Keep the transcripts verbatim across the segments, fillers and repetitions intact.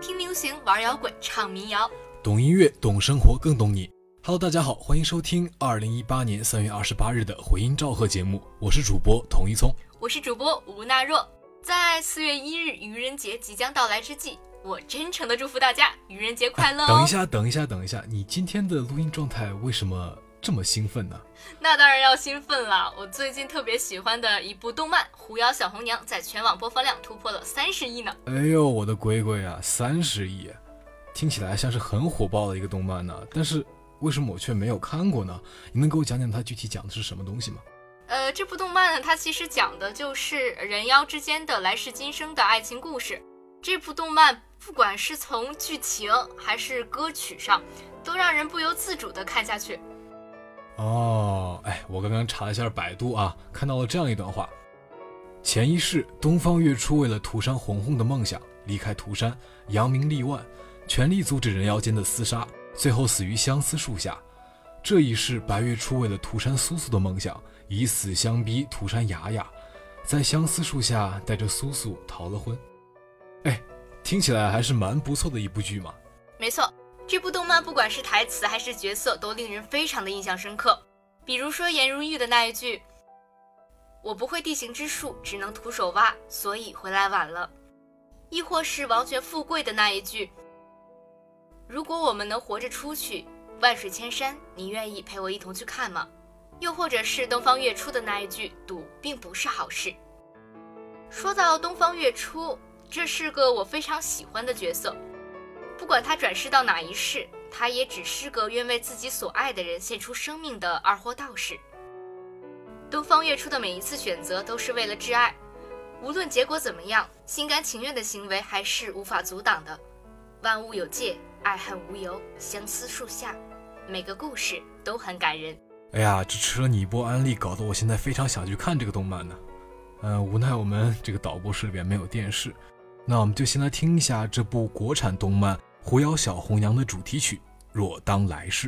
听流行，玩摇滚，唱民谣， 懂音乐，懂生活，更懂你。Hello， 大家好，欢迎收听二零一八年三月二十八日的回音召贺节目，我是主播童一聪， 我是主播吴娜若。在四月一日愚人节即将到来之际，我真诚的祝福大家愚人节快乐、哦啊、等一下，等一下，等一下，你今天的录音状态为什么这么兴奋呢？ 那当然要兴奋了，我最近特别喜欢的一部动漫《狐妖小红娘》在全网播放量突破了三十亿呢。 哎呦，我的龟龟啊，三十亿，听起来像是很火爆的一个动漫呢，但是为什么我却没有看过呢？你能给我讲讲它具体讲的是什么东西吗？ 呃，这部动漫呢，它其实讲的就是人妖之间的来世今生的爱情故事。这部动漫不管是从剧情还是歌曲上，都让人不由自主地看下去。 哦，哎，我刚刚查了一下百度啊，看到了这样一段话：前一世，东方月初为了涂山红红的梦想，离开涂山，扬名立万，全力阻止人妖间的厮杀，最后死于相思树下。这一世，白月初为了涂山苏苏的梦想，以死相逼涂山雅雅，在相思树下带着苏苏逃了婚。哎，听起来还是蛮不错的一部剧嘛。 没错，这部动漫不管是台词还是角色，都令人非常的印象深刻。比如说颜如玉的那一句：我不会地形之术，只能徒手挖，所以回来晚了。亦或是王权富贵的那一句：如果我们能活着出去，万水千山，你愿意陪我一同去看吗？又或者是东方月初的那一句：赌并不是好事。说到东方月初，这是个我非常喜欢的角色，不管他转世到哪一世，他也只是个愿为自己所爱的人献出生命的二货道士。东方月初的每一次选择都是为了挚爱，无论结果怎么样，心甘情愿的行为还是无法阻挡的。万物有界，爱恨无由，相思树下，每个故事都很感人。 哎呀，这吃了你一波安利，搞得我现在非常想去看这个动漫呢。呃，无奈我们这个导播室里边没有电视，那我们就先来听一下这部国产动漫《狐妖小红娘》的主题曲《若当来世》。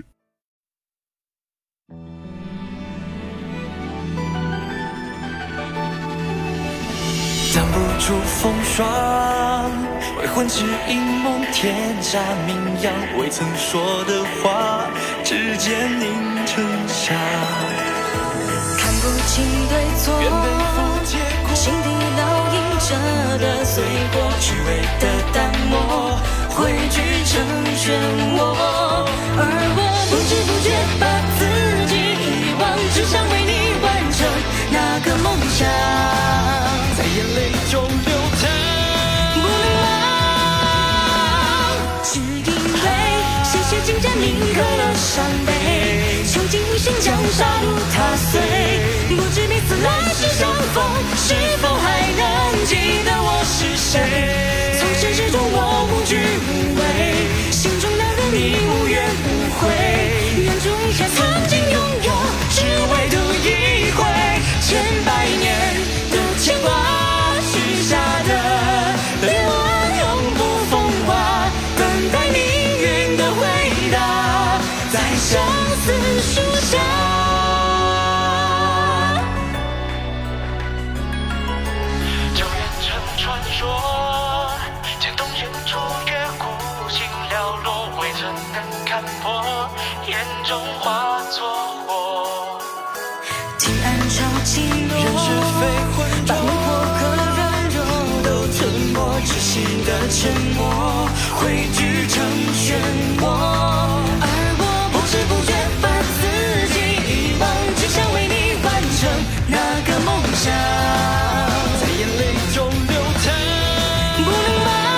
挡不住风霜，未婚只因梦，天下名扬，未曾说的话，指尖凝成沙。 看不清对错， 愿背负结果， 心底烙印着的碎果， 虚伪的淡漠，汇聚成漩涡。 而我不知不觉把自己遗忘，只想为你完成那个梦想， 在眼泪中流淌， 不能忘，只因为鲜血浸染铭刻了伤悲，囚禁一生将杀戮踏碎，不知彼此来世相逢，是否还能记得我是谁？从始至终我无惧无畏，心中那个你无怨无悔，愿终一下曾经拥有，只为赌一回，千百年的牵挂，许下的愿望永不风化，等待命运的回答，在相思树下。 就变成传说，渐冻远处月孤星寥落，未曾能看破，眼中化作火。 提暗潮起落， 人是非浑浊， 把魂魄和软弱都吞没，窒息的沉默汇聚成漩涡。 而我不知不觉把自己遗忘，只想为你完成那个梦想， 在眼泪中流淌， 不能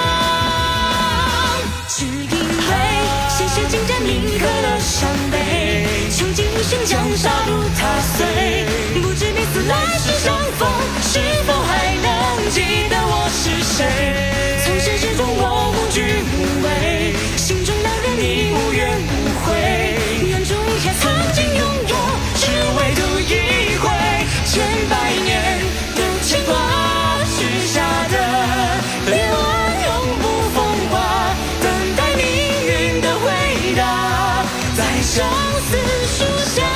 忘，只因为鲜血浸染铭刻了伤悲，囚禁一生将杀戮踏碎，不知彼此来世相逢，是否还能记得我是谁？从始至终我无惧无畏，心中那个你无怨无悔，愿终一下曾经拥有，只为赌一回，千百年的牵挂，许下的愿望永不风化，等待命运的回答，在相思树下。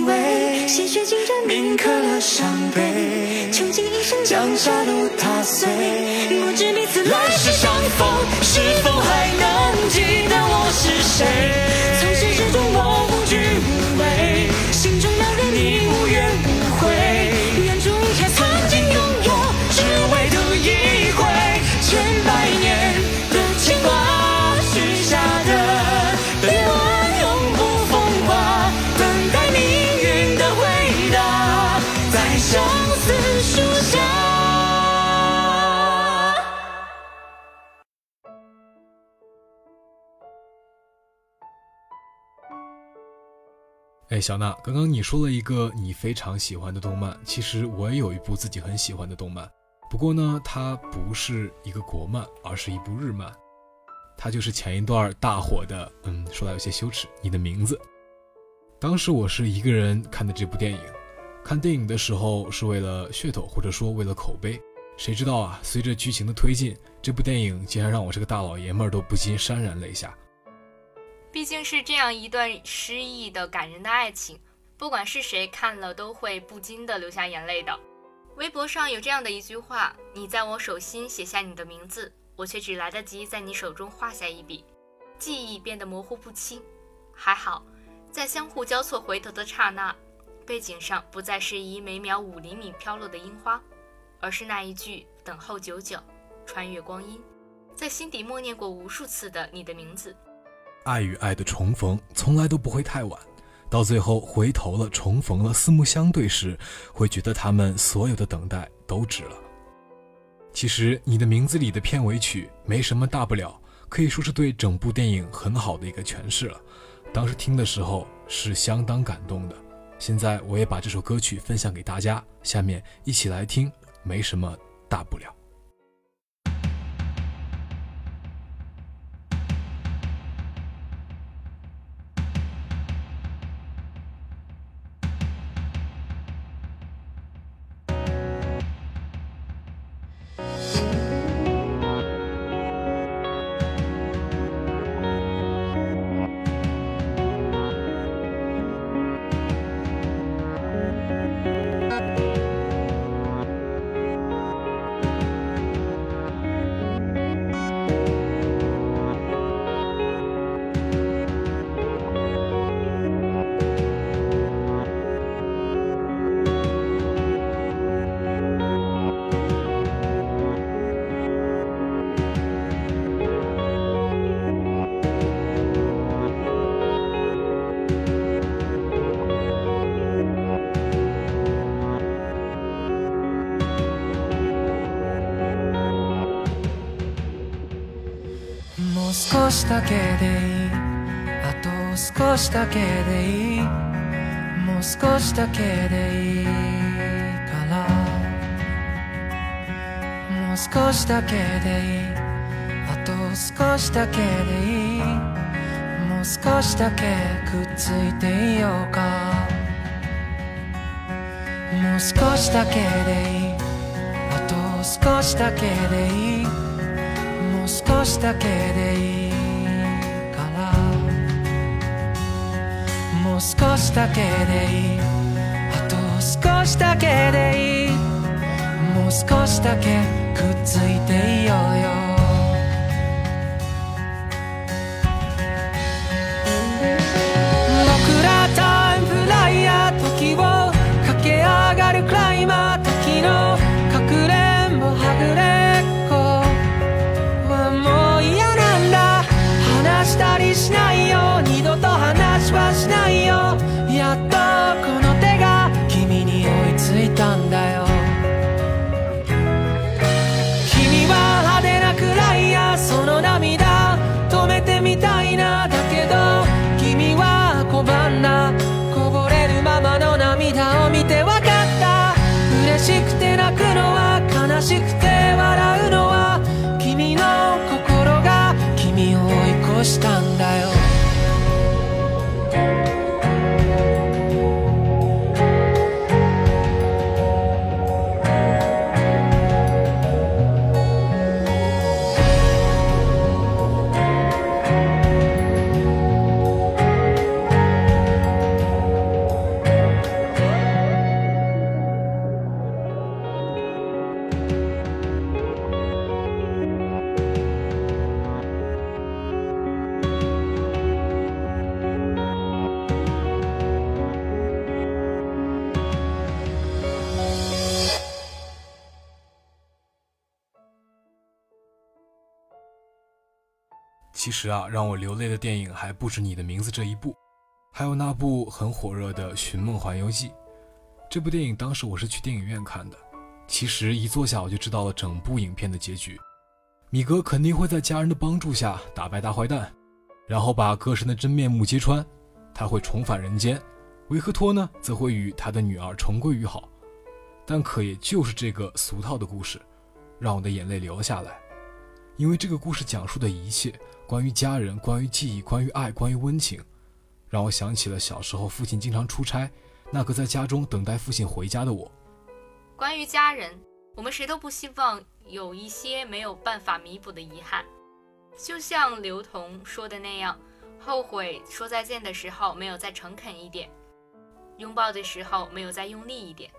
味，鲜血浸着铭刻了伤悲，穷尽一生将杀戮踏碎，不知彼此来世相逢，是否还能记得我是谁？从始至终我无惧无畏，心中遥远你无怨无悔，愿逐一切曾经拥有，只为赌一回，千百年的牵挂，许下的愿望永不风化，等待命运的回答，在相思树下。 哎，小娜，刚刚你说了一个你非常喜欢的动漫，其实我也有一部自己很喜欢的动漫，不过呢，它不是一个国漫，而是一部日漫，它就是前一段大火的，嗯，说来有些羞耻，你的名字。当时我是一个人看的这部电影，看电影的时候是为了噱头，或者说为了口碑，谁知道啊，随着剧情的推进，这部电影竟然让我这个大老爷们儿都不禁潸然泪下。 毕竟是这样一段诗意的感人的爱情，不管是谁看了都会不禁的流下眼泪的。微博上有这样的一句话，你在我手心写下你的名字，我却只来得及在你手中画下一笔，记忆变得模糊不清。还好在相互交错回头的刹那，背景上不再是以每秒五厘米飘落的樱花，而是那一句等候久久，穿越光阴，在心底默念过无数次的你的名字。 爱与爱的重逢从来都不会太晚，到最后回头了，重逢了，四目相对时，会觉得他们所有的等待都值了。其实你的名字里的片尾曲没什么大不了，可以说是对整部电影很好的一个诠释了。当时听的时候是相当感动的，现在我也把这首歌曲分享给大家，下面一起来听没什么大不了。 もう少しだけでいい、あと少しだけでいい、もう少しだけでいいからもう少しだけでいい、あと少しだけでいい、もう少しだけくっついていようか、もう少しだけでいい、あと少しだけでいい、もう少しだけでいいからもう少しだけでいい、あと少しだけでいい、もう少しだけくっついていようよ。僕らタイムフライヤー、時を駆け上がるクライマー、時のかくれんぼはぐれっこはもう嫌なんだ、話したりしないよ、二度と話はしないよ、やっとこの手が君に追いついたんだよ。君は派手なくらいや、その涙止めてみたいな、だけど君は拒んだ、こぼれるままの涙を見てわかった、嬉しくて泣くのは悲しくて笑うのは君の心が君を追い越したんだよ。 其实啊，让我流泪的电影还不止你的名字这一部，还有那部很火热的《寻梦环游记》。这部电影当时我是去电影院看的，其实一坐下我就知道了整部影片的结局。米格肯定会在家人的帮助下打败大坏蛋，然后把歌神的真面目揭穿，他会重返人间。维克托呢，则会与他的女儿重归于好。但可也就是这个俗套的故事，让我的眼泪流了下来。因为这个故事讲述的一切，关于家人，关于记忆，关于爱，关于温情，让我想起了小时候父亲经常出差，那个在家中等待父亲回家的我。 关于家人，我们谁都不希望有一些没有办法弥补的遗憾。就像刘同说的那样，后悔说再见的时候没有再诚恳一点，拥抱的时候没有再用力一点。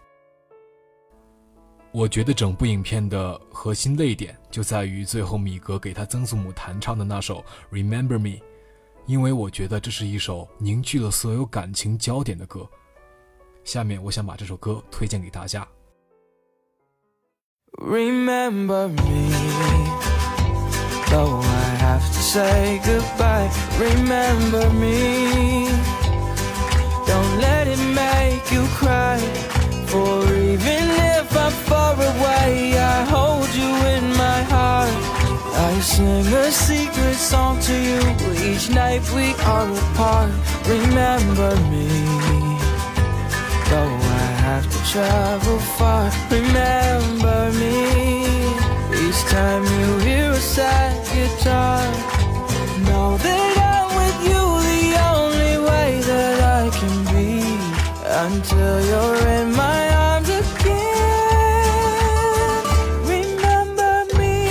我觉得整部影片的核心泪点就在于最后米格给他曾祖母弹唱的那首 Remember Me， 因为我觉得这是一首凝聚了所有感情焦点的歌。下面我想把这首歌推荐给大家。 Remember me, though I have to say goodbye. Remember me, don't let it make you cry. For even if I'm far away, I hold you in my heart. I sing a secret song to you each night we are apart. Remember me, though I have to travel far. Remember me, each time you hear a sad guitar. Know that I'm with you the only way that I can be, until you're in my arms again. Remember me.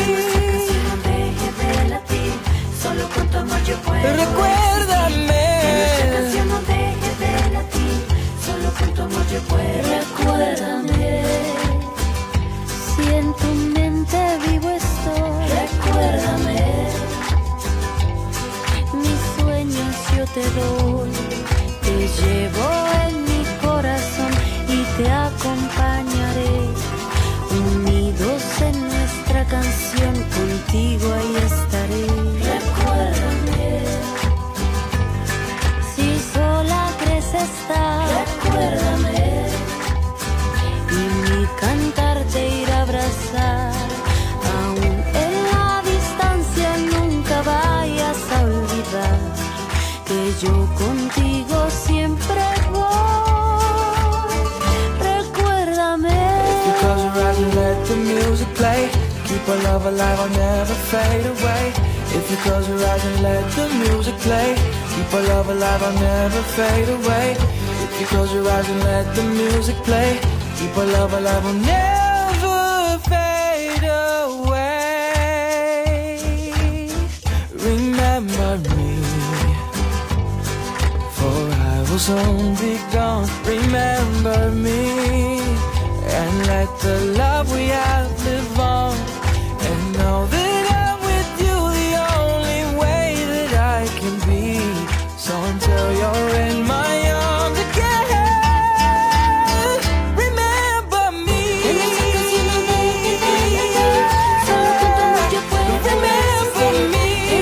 Recuérdame. Recuérdame. Si en tu mente vivo estoy. Recuérdame. Mis sueños yo te doy. Te llevo en mi corazón y te acompañaré, unidos en nuestra canción, contigo ahí estaré. Recuérdame, si sola crees estar. Recuérdame, y mi cantar te irá a abrazar, aún en la distancia nunca vayas a olvidar que yo contigo siempre voy. Recuérdame. If you close your eyes and let the music play, keep our love alive, I'll never fade away. If you close your eyes and let the music play, keep our love alive, I'll never fade away. If you close your eyes and let the music play, keep our love alive, I'll never fade away. Remember me, for I will soon be gone. Remember me, and let the love we have live on. And know that I'm with you the only way that I can be. So until you're in my arms again, remember me. Remember me.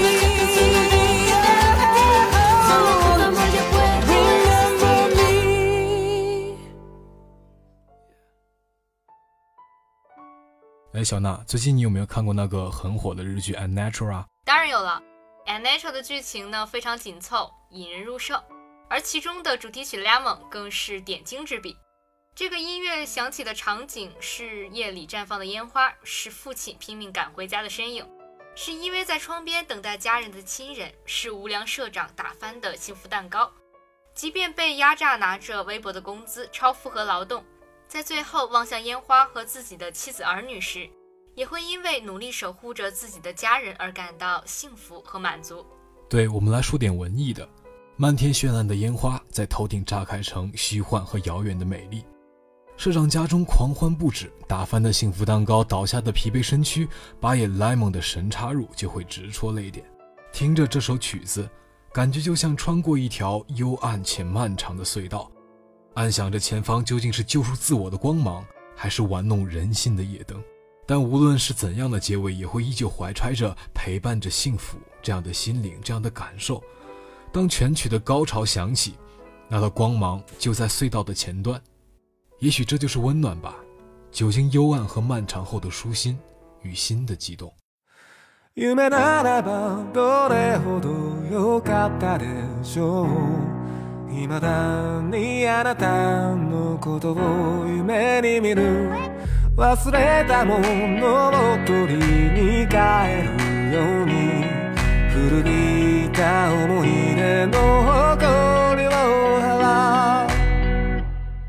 Remember me. 哎，小娜，最近你有没有看过那个很火的日剧《Unnatural》啊？ 当然有了，《Unnatural》的剧情呢非常紧凑，引人入胜，而其中的主题曲《Lemon》更是点睛之笔。这个音乐响起的场景是夜里绽放的烟花，是父亲拼命赶回家的身影，是依偎在窗边等待家人的亲人，是无良社长打翻的幸福蛋糕。即便被压榨拿着微薄的工资，超负荷劳动，在最后望向烟花和自己的妻子儿女时，也会因为努力守护着自己的家人而感到幸福和满足。 对，我们来说点文艺的。漫天绚烂的烟花在头顶炸开成虚幻和遥远的美丽，社长家中狂欢不止，打翻的幸福蛋糕，倒下的疲惫身躯，把野莱蒙的神插入就会直戳泪点。听着这首曲子，感觉就像穿过一条幽暗且漫长的隧道，暗想着前方究竟是救赎自我的光芒，还是玩弄人心的夜灯。但无论是怎样的结尾，也会依旧怀揣着陪伴着幸福这样的心灵，这样的感受。当全曲的高潮响起，那道光芒就在隧道的前端，也许这就是温暖吧，久经幽暗和漫长后的舒心与心的悸动。 夢ならばどれほど良かったでしょう。未だにあなたのことを夢に見る。忘れたものを取りに帰るように、古びた思い出の誇りを払う。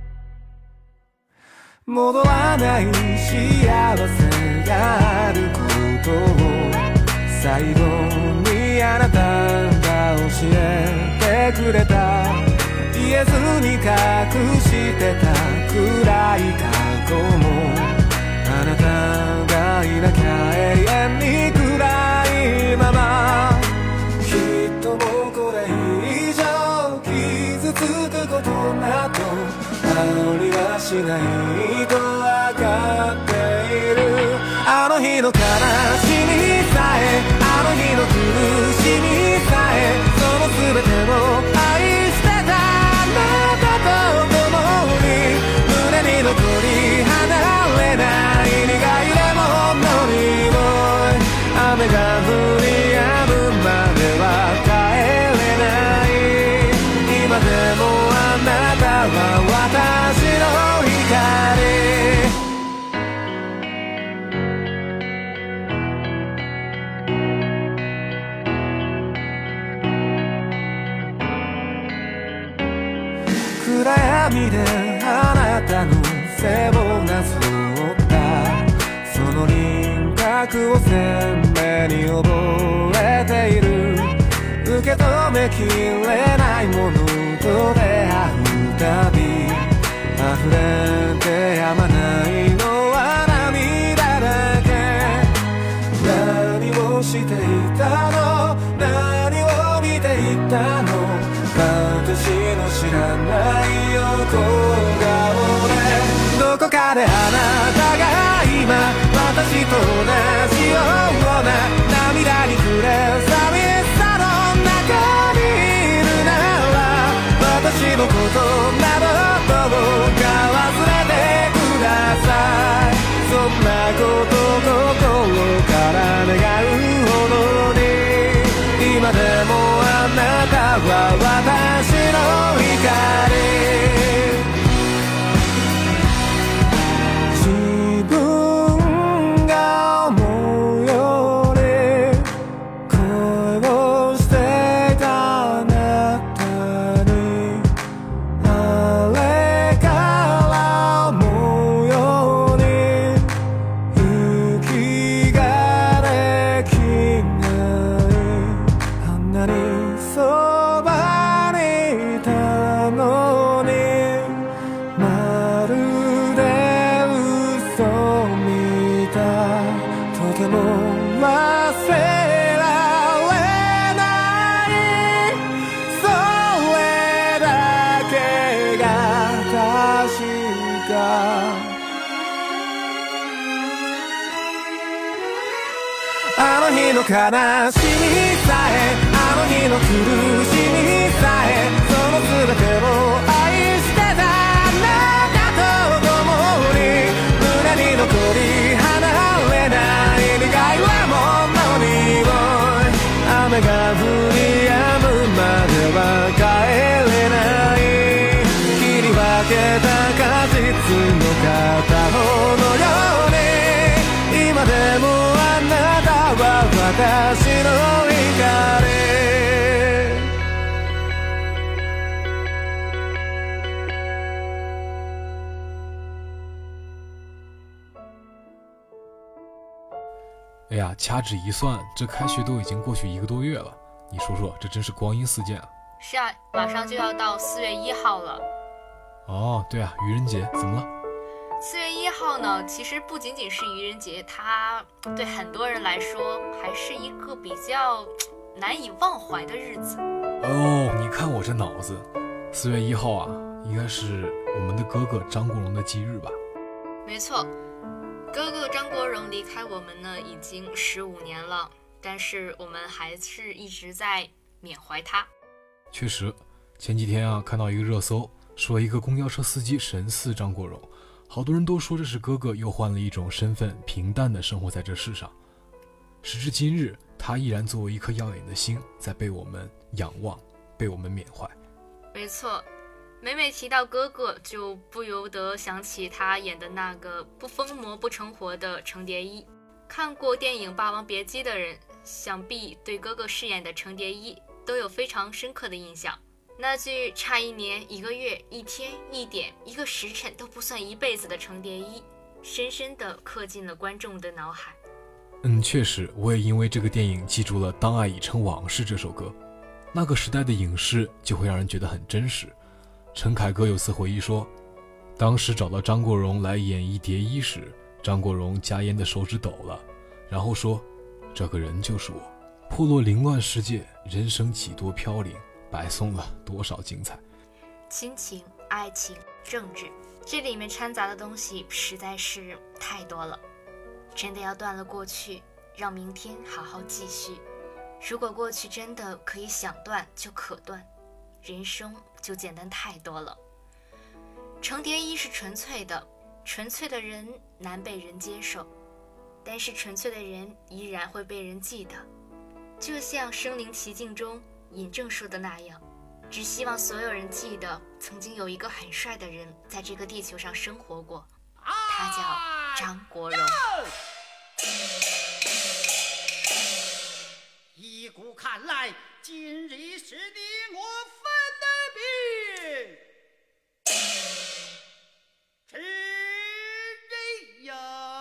戻らない幸せがあることを最後にあなたが教えてくれた。言えずに隠してた暗い過去も、あなたがいなきゃ永遠に暗いまま。きっともうこれ以上傷つくことなどありはしないと分かっている。あの日の悲しみさえ、あの日の苦しみさえ、その全てを愛してたあなたと共に、胸に残り離れない苦いレモンの匂い。雨が降り止むまでは帰れない。今でもあなたは私の光。暗闇であなたの背をなぞったその輪郭を鮮明に覚えている。受け止めきれないものと出会うたび、溢れてやまないのは涙だけ。何をしていたの、何を見ていたの、私の知らない横顔で、どこかであなたが今私と同じような涙に暮れ寂しさの中にいるなら、私のことなどどうか忘れてください。そんなこと心から願うほどに、今でもあなたは私の光。自分が思うより恋をしていたあなたに、あれから思うように息ができない。あんなにそばにいたのに、まるで嘘みたい。とても忘れられない、それだけが確か。あの日の悲しみさえ、あの日の苦しみさえ、その全てを愛してたあなたと共に、胸に残り離れない苦いレモンの匂い。雨が降り止むまでは帰れない。切り分けた果実の片方のように、今でもあなたは私の光。 哎呀，掐指一算，这开学都已经过去一个多月了，你说说，这真是光阴似箭啊！ 是啊，马上就要到四月一号了。 哦，对啊，愚人节怎么了？ 四月一号呢，其实不仅仅是愚人节，它对很多人来说还是一个比较难以忘怀的日子。 哦，你看我这脑子，四月一号啊，应该是我们的哥哥张国荣的忌日吧？ 没错，哥哥张国荣离开我们呢已经十五年了。 但是我们还是一直在缅怀他。 确实，前几天啊，看到一个热搜，说一个公交车司机神似张国荣，好多人都说这是哥哥又换了一种身份，平淡的生活在这世上。时至今日，他依然作为一颗耀眼的星，在被我们仰望，被我们缅怀。 没错，每每提到哥哥，就不由得想起他演的那个不疯魔不成活的程蝶衣。看过电影《霸王别姬》的人，想必对哥哥饰演的程蝶衣都有非常深刻的印象。那句差一年、一个月、一天、一点、一个时辰都不算一辈子的程蝶衣，深深地刻进了观众的脑海。 嗯，确实，我也因为这个电影记住了《当爱已成往事》这首歌。那个时代的影视就会让人觉得很真实。陈凯歌有次回忆说，当时找到张国荣来演绎蝶衣时，张国荣夹烟的手指抖了，然后说：“这个人就是我。”破落凌乱世界，人生几多飘零，白送了多少精彩。 亲情、爱情、政治，这里面掺杂的东西实在是太多了。真的要断了过去，让明天好好继续。如果过去真的可以想断就可断，人生就简单太多了。程蝶衣是纯粹的，纯粹的人难被人接受，但是纯粹的人依然会被人记得。就像《身临其境》中尹正说的那样，只希望所有人记得，曾经有一个很帅的人在这个地球上生活过，他叫张国荣。 依古看来，今日是你我分的别，知人呀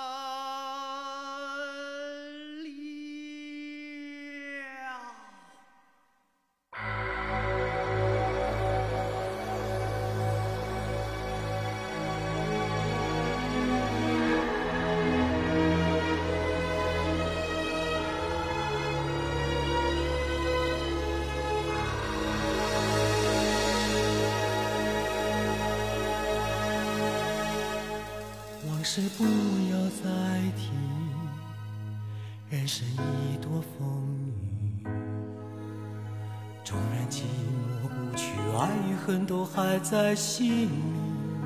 是不要再提，人生已多风雨，纵然寂寞不去，爱与恨都还在心里。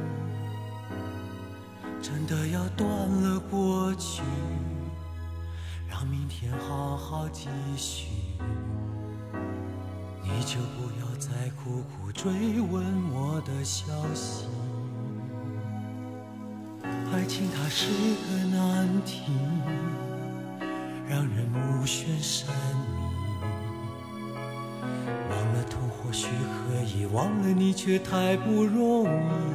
真的要断了过去，让明天好好继续。你就不要再苦苦追问我的消息。爱情它是个难题，让人目眩神迷。忘了痛或许可以，忘了你却太不容易。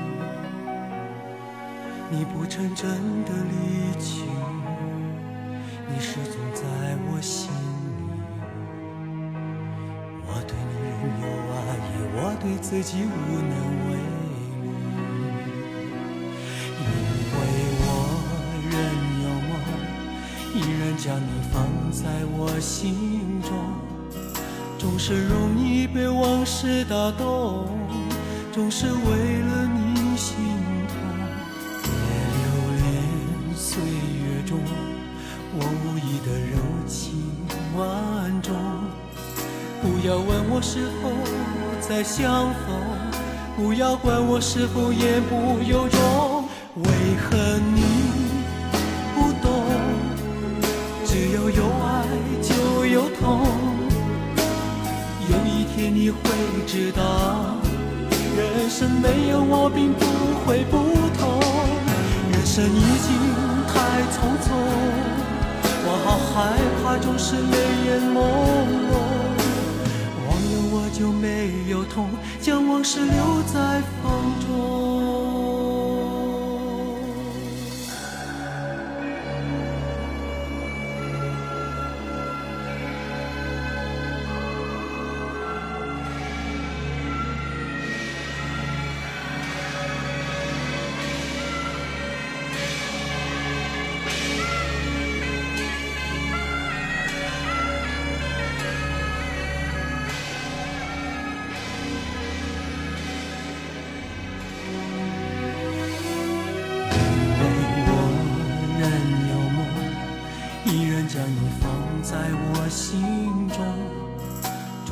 你不曾真的离去，你始终在我心里。我对你仍有爱意，我对自己无能为力。依然将你放在我心中，总是容易被往事打动，总是为了你心痛。别留恋岁月中我无意的柔情万种，不要问我是否再相逢，不要管我是否言不由衷。为何你不懂？只有有爱就有痛，有一天你会知道，人生没有我并不会不同。人生已经太匆匆，我好害怕总是泪眼朦胧。忘了我就没有痛，将往事留在风中。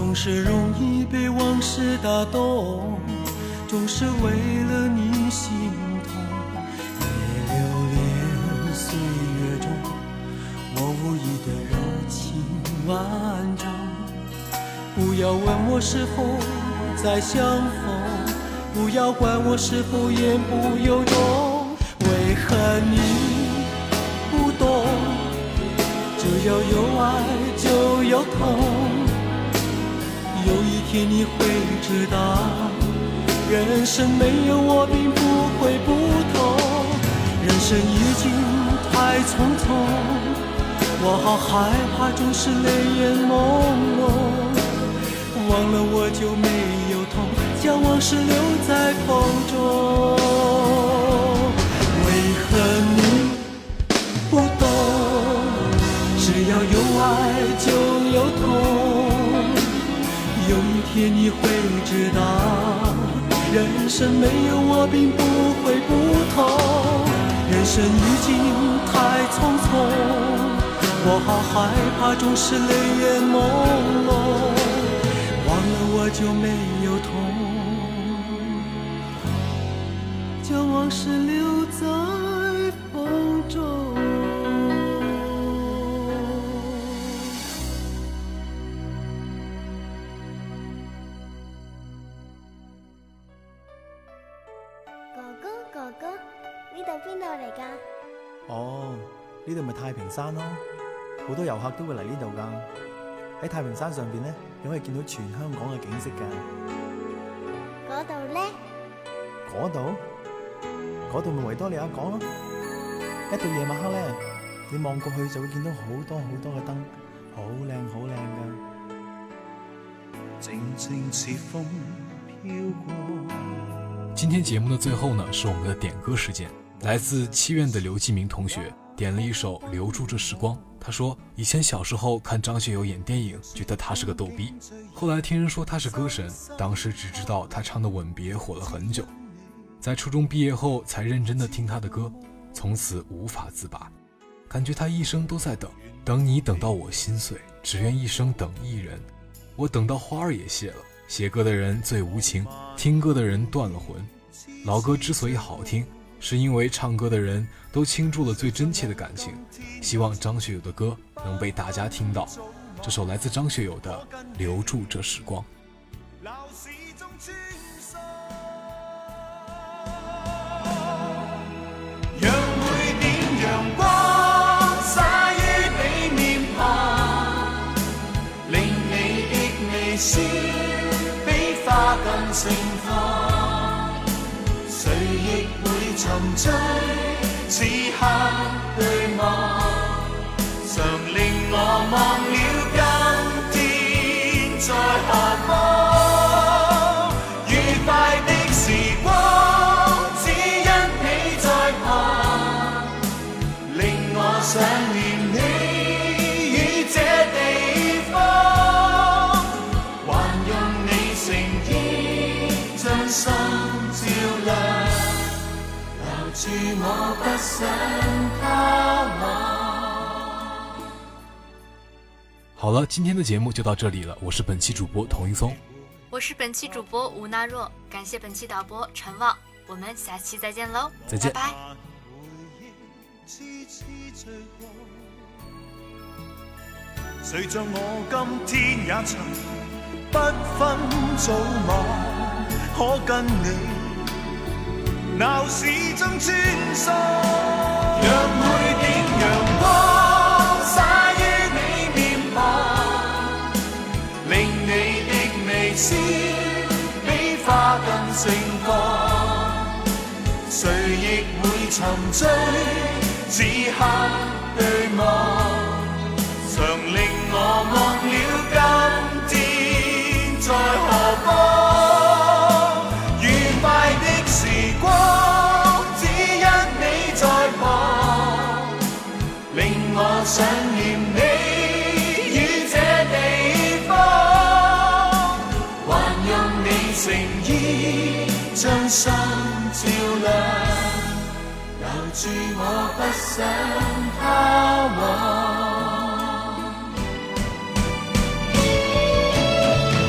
总是容易被往事打动，总是为了你心痛。也留恋岁月中我无意的柔情万种。不要问我是否再相逢，不要管我是否言不由衷。为何你不懂？只要有爱就有痛，有一天你会知道，人生没有我并不会不同。人生已经太匆匆，我好害怕总是泪眼朦胧。忘了我就没有痛，将往事留在风中。为何你不懂？只要有爱就有痛，有一天你会知道，人生没有我并不会不同。人生已经太匆匆，我好害怕总是泪眼朦胧。忘了我就没有痛，将往事留在风中。 哥哥哥哥，呢度邊度嚟㗎？ 哦，呢度咪太平山咯，好多遊客都會嚟呢度㗎。喺太平山上邊咧，你可以見到全香港嘅景色㗎。 嗰度咧？ 嗰度？嗰度咪維多利亞港咯。一到夜晚黑咧，你望過去就會見到好多好多嘅燈，好靚好靚㗎。 靜靜似風飄過。 今天節目的最後呢，是我們的點歌時間。來自七院的劉繼明同學點了一首《留住這時光》。他說以前小時候看張學友演電影，覺得他是個逗逼，後來聽人說他是歌神，當時只知道他唱的《吻別》火了很久，在初中畢業後才認真的聽他的歌，從此無法自拔，感覺他一生都在等，等你等到我心碎，只願一生等一人，我等到花兒也謝了。寫歌的人最無情，聽歌的人斷了魂。老歌之所以好聽，是因為唱歌的人都傾注了最真切的感情。希望張學友的歌能被大家聽到。這首來自張學友的《留住這時光》。 讓每點陽光灑於你面龐，令你的微笑比花更盛放，誰亦會沉醉，此刻對望，常令我忘了今天在何方。愉快的時光只因你在旁，令我想念你於這地方，還用你誠意將心照亮，留住我不想他忘。 好了，今天的節目就到這裡了，我是本期主播童一松， 我是本期主播吳娜若，感謝本期導播陳望，我們下期再見嘍， 再見， 拜拜。 誰像我今天也曾不分早晚，可跟你鬧市中穿梭，讓每點陽光灑於你面龐，令你的微笑比花更盛放，誰亦會沉醉，此刻對望，常令我忘了今天在何方。愉快的時光只因你在旁，令我想念你於這地方，還用你誠意將心照亮，留住我不想他忘。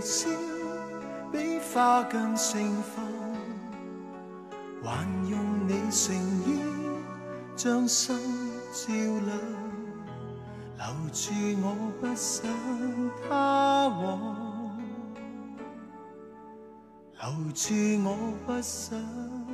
笑，比花更盛放，还用你诚意将心照亮，留住我不想他往，留住我不想。